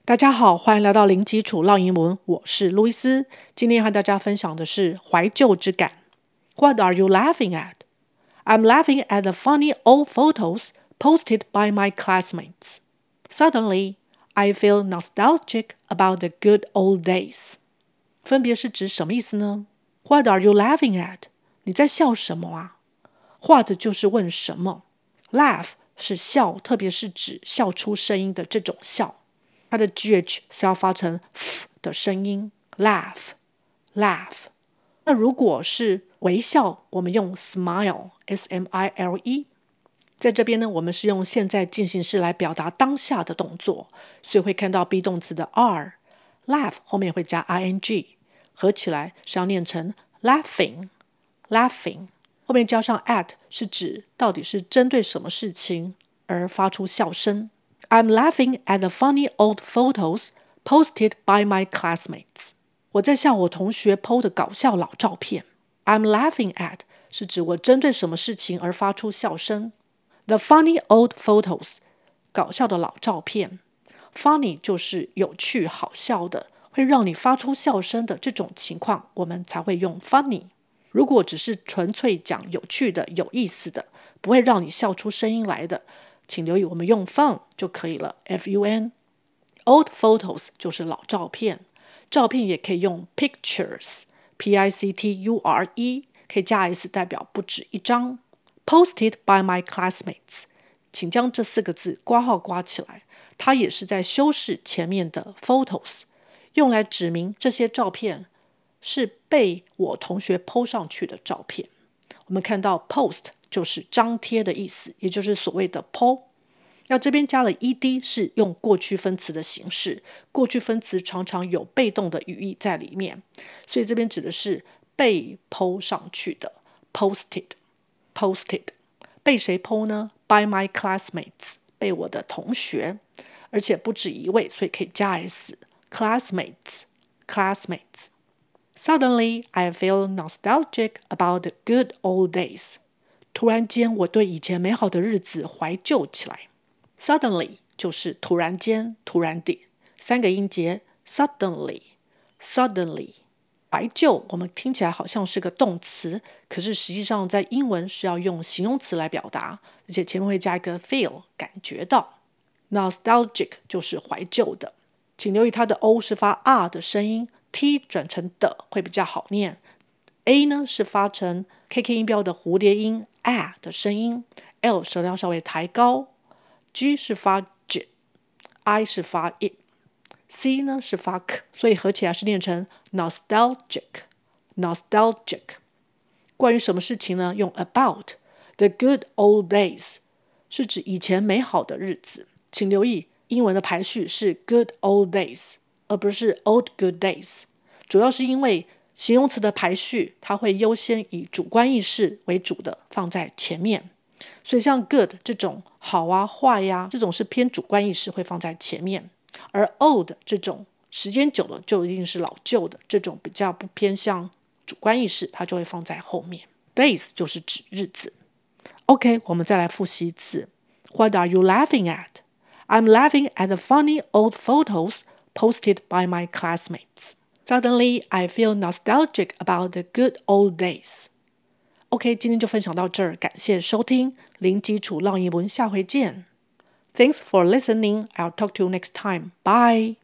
大家好，歡迎來到零基礎繞英文，我是路易斯。今天和大家分享的是懷舊之感。What are you laughing at? I'm laughing at the funny old photos posted by my classmates. Suddenly, I feel nostalgic about the good old days. 分別是指什麼意思呢？ What are you laughing at? 你在笑什麼啊？ What 就是問什麼。Laugh 是笑，特別是指笑出聲音的這種笑。它的 GH 是要發成 F 的聲音 laugh。那如果是微笑，我們用 smile S-M-I-L-E。在這邊呢，我們是用現在進行式來表達當下的動作，所以會看到 be 動詞的 are。laugh 後面會加 ing， 合起來是要念成 laughing。後面加上 at 是指到底是針對什麼事情而發出笑聲。I'm laughing at the funny old photos posted by my classmates. 我在笑我同學 po 的搞笑老照片。I'm laughing at 是指我針對什麼事情而發出笑聲。The funny old photos 搞笑的老照片。Funny 就是有趣好笑的，會讓你發出笑聲的這種情況，我們才會用 funny。如果只是純粹講有趣的、有意思的，不會讓你笑出聲音來的，請留意我們用 fun 就可以了 F-U-N。 Old photos 就是老照片，照片也可以用 pictures P-I-C-T-U-R-E， 可以加 S 代表不止一張。Posted by my classmates， 請將這4個字括號括起來，它也是在修飾前面的 photos， 用來指明這些照片是被我同學 po 上去的照片。我們看到 post 就是張貼的意思，也就是所謂的 po。要這邊加了 ed 是用過去分詞的形式，過去分詞常常有被動的語義在裡面，所以這邊指的是被 po 上去的 posted。被誰 po 呢？ By my classmates， 被我的同學，而且不止一位，所以可以加 s classmates。 Suddenly, I feel nostalgic about the good old days. 突然間，我對以前美好的日子懷舊起來。Suddenly 就是突然間、突然地，3個音節 suddenly。懷舊我們聽起來好像是個動詞，可是實際上在英文是要用形容詞來表達，而且前面會加一個 feel， 感覺到。Nostalgic 就是懷舊的，請留意它的 O 是發 R 的聲音， T 轉成的會比較好念。A 呢是發成 KK 音標的蝴蝶音 A 的聲音， L 舌頭稍微抬高， G 是發 J， I 是發 I，C 呢是發 K， 所以合起來是念成 nostalgic。 關於什麼事情呢？用 about。 The good old days 是指以前美好的日子，請留意英文的排序是 good old days 而不是 old good days， 主要是因為形容詞的排序它會優先以主觀意識為主的放在前面，所以像 good 這種好啊壞呀，這種是偏主觀意識會放在前面，而 old 這種時間久了就一定是老舊的，這種比較不偏向主觀意識，它就會放在後面。 Days 就是指日子。 OK， 我們再來複習一次。 What are you laughing at? I'm laughing at the funny old photos posted by my classmates. Suddenly, I feel nostalgic about the good old days. OK， 今天就分享到這兒，感謝收聽零基礎繞英文，下回見。Thanks for listening. I'll talk to you next time. Bye.